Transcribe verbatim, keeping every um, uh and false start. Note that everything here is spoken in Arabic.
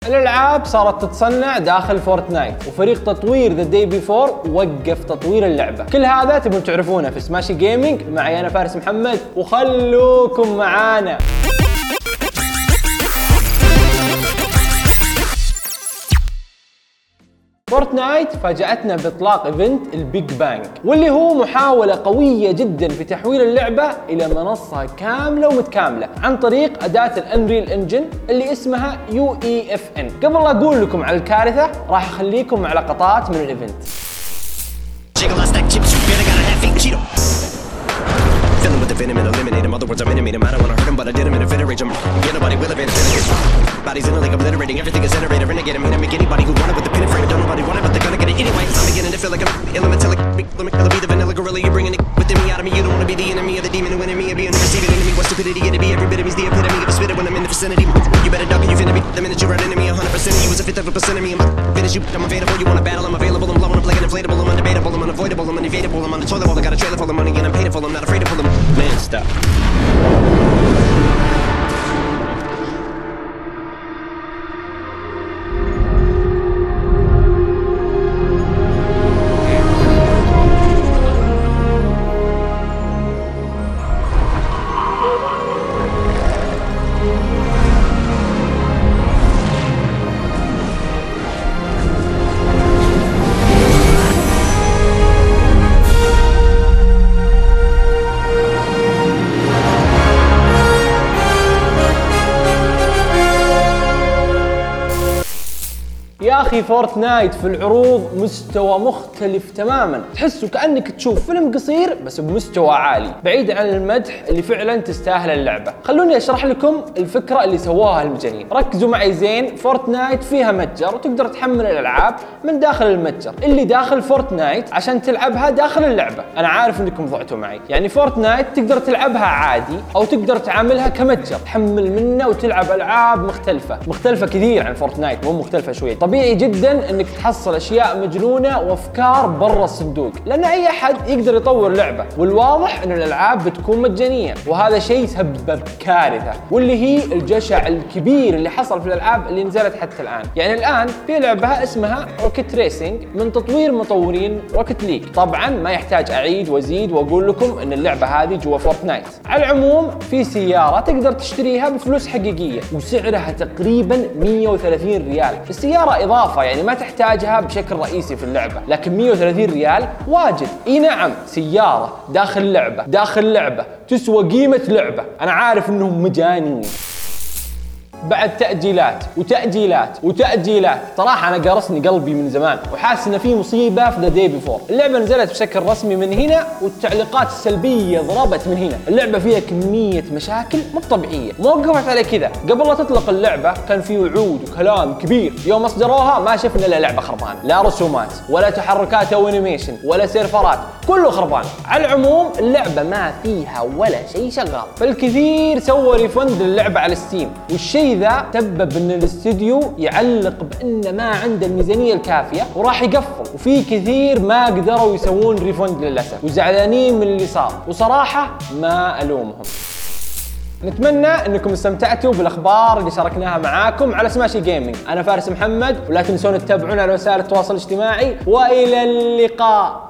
الالعاب صارت تتصنع داخل فورتنايت، وفريق تطوير ذا داي بيفور وقف تطوير اللعبه. كل هذا تبون تعرفونه في سماشي جيمنج، معي انا فارس محمد، وخلوكم معانا. فورتنايت فاجأتنا باطلاق ايفنت البيج بانج، واللي هو محاولة قوية جدا في تحويل اللعبة الى منصة كاملة ومتكاملة عن طريق أداة الانريل انجن اللي اسمها يو اي اف ان. قبل لا اقول لكم على الكارثة، راح اخليكم مع لقطات من الايفنت. Venom and eliminate him. Other words, I'm intimate him. I don't wanna hurt him, but I did him in a fit of rage. I'm get nobody will have bodies in a league obliterating. Everything is iterator. Renegade him. Hit him. Make anybody who wanted with the pin and frame. Don't nobody want it, but they're gonna get it anyway. I'm beginning to feel like I'm elemental. Let me be the vanilla gorilla. You're bringing it within me out of me. You don't wanna be the enemy of the demon who enemy of being the receiving enemy. What stupidity it to be? Every bit of me's the epitome of a spitter when I'm in the vicinity. You better duck and you finna be the minute you run into me. one hundred percent of you is a fifth of a percent of me. I'm finish you. I'm available. You wanna battle? I'm available. I'm blowing up like an inflatable. I'm undebatable. I'm unavoidable. I'm unevadable. I'm on the toilet bowl. I got a trailer full of money and I'm paid for. I'm not afraid to pull them. Man, stop. يا اخي فورتنايت في العروض مستوى مختلف تماما، تحسه كأنك تشوف فيلم قصير بس بمستوى عالي، بعيد عن المدح اللي فعلا تستاهل اللعبة. خلوني اشرح لكم الفكرة اللي سواها المجانين. ركزوا معي زين. فورتنايت فيها متجر وتقدر تحمل الالعاب من داخل المتجر اللي داخل فورتنايت عشان تلعبها داخل اللعبة. انا عارف انكم ضعتوا معي، يعني فورتنايت تقدر تلعبها عادي او تقدر تعاملها كمتجر تحمل منه وتلعب العاب مختلفة مختلفة كثير عن فورتنايت، مو مختلفة شوية. طبيعي جدا انك تحصل اشياء مجنونه وافكار برا الصندوق، لان اي احد يقدر يطور لعبه، والواضح ان الالعاب بتكون مجانيه، وهذا شيء سبب كارثه، واللي هي الجشع الكبير اللي حصل في الالعاب اللي نزلت حتى الان. يعني الان في لعبه اسمها روكيت ريسنج من تطوير مطورين روكيت ليج. طبعا ما يحتاج اعيد وازيد واقول لكم ان اللعبه هذه جوا فورتنايت. على العموم في سياره تقدر تشتريها بفلوس حقيقيه وسعرها تقريبا مية وثلاثين ريال. السياره اضافه، يعني ما تحتاجها بشكل رئيسي في اللعبة، لكن مية وثلاثين ريال واجد. اي نعم، سيارة داخل لعبة داخل لعبة تسوى قيمة لعبة. انا عارف انهم مجانين. بعد تأجيلات وتأجيلات وتأجيلات، صراحة أنا قرصني قلبي من زمان وحاسس إن في مصيبة في ذا داي بيفور. اللعبة نزلت بشكل رسمي من هنا، والتعليقات السلبية ضربت من هنا. اللعبة فيها كمية مشاكل مو طبيعية. ما وقفت على كذا، قبل لا تطلق اللعبة كان في وعود وكلام كبير. يوم أصدروها ما شفنا إلا لعبة خربانة، لا رسومات ولا تحركات أو أنيميشن ولا سيرفرات، كله خربان. على العموم اللعبة ما فيها ولا شيء شغال، فالكثير سوى ريفند للعبة على ستيم، والشيء ذا سبب ان الاستديو يعلق بان ما عنده الميزانيه الكافيه وراح يقفل، وفي كثير ما قدروا يسوون ريفند للاسف وزعلانين من اللي صار، وصراحه ما الومهم. نتمنى انكم استمتعتوا بالاخبار اللي شاركناها معاكم على سماشي جيمنج. انا فارس محمد، ولا تنسون تتابعونا على وسائل التواصل الاجتماعي، والى اللقاء.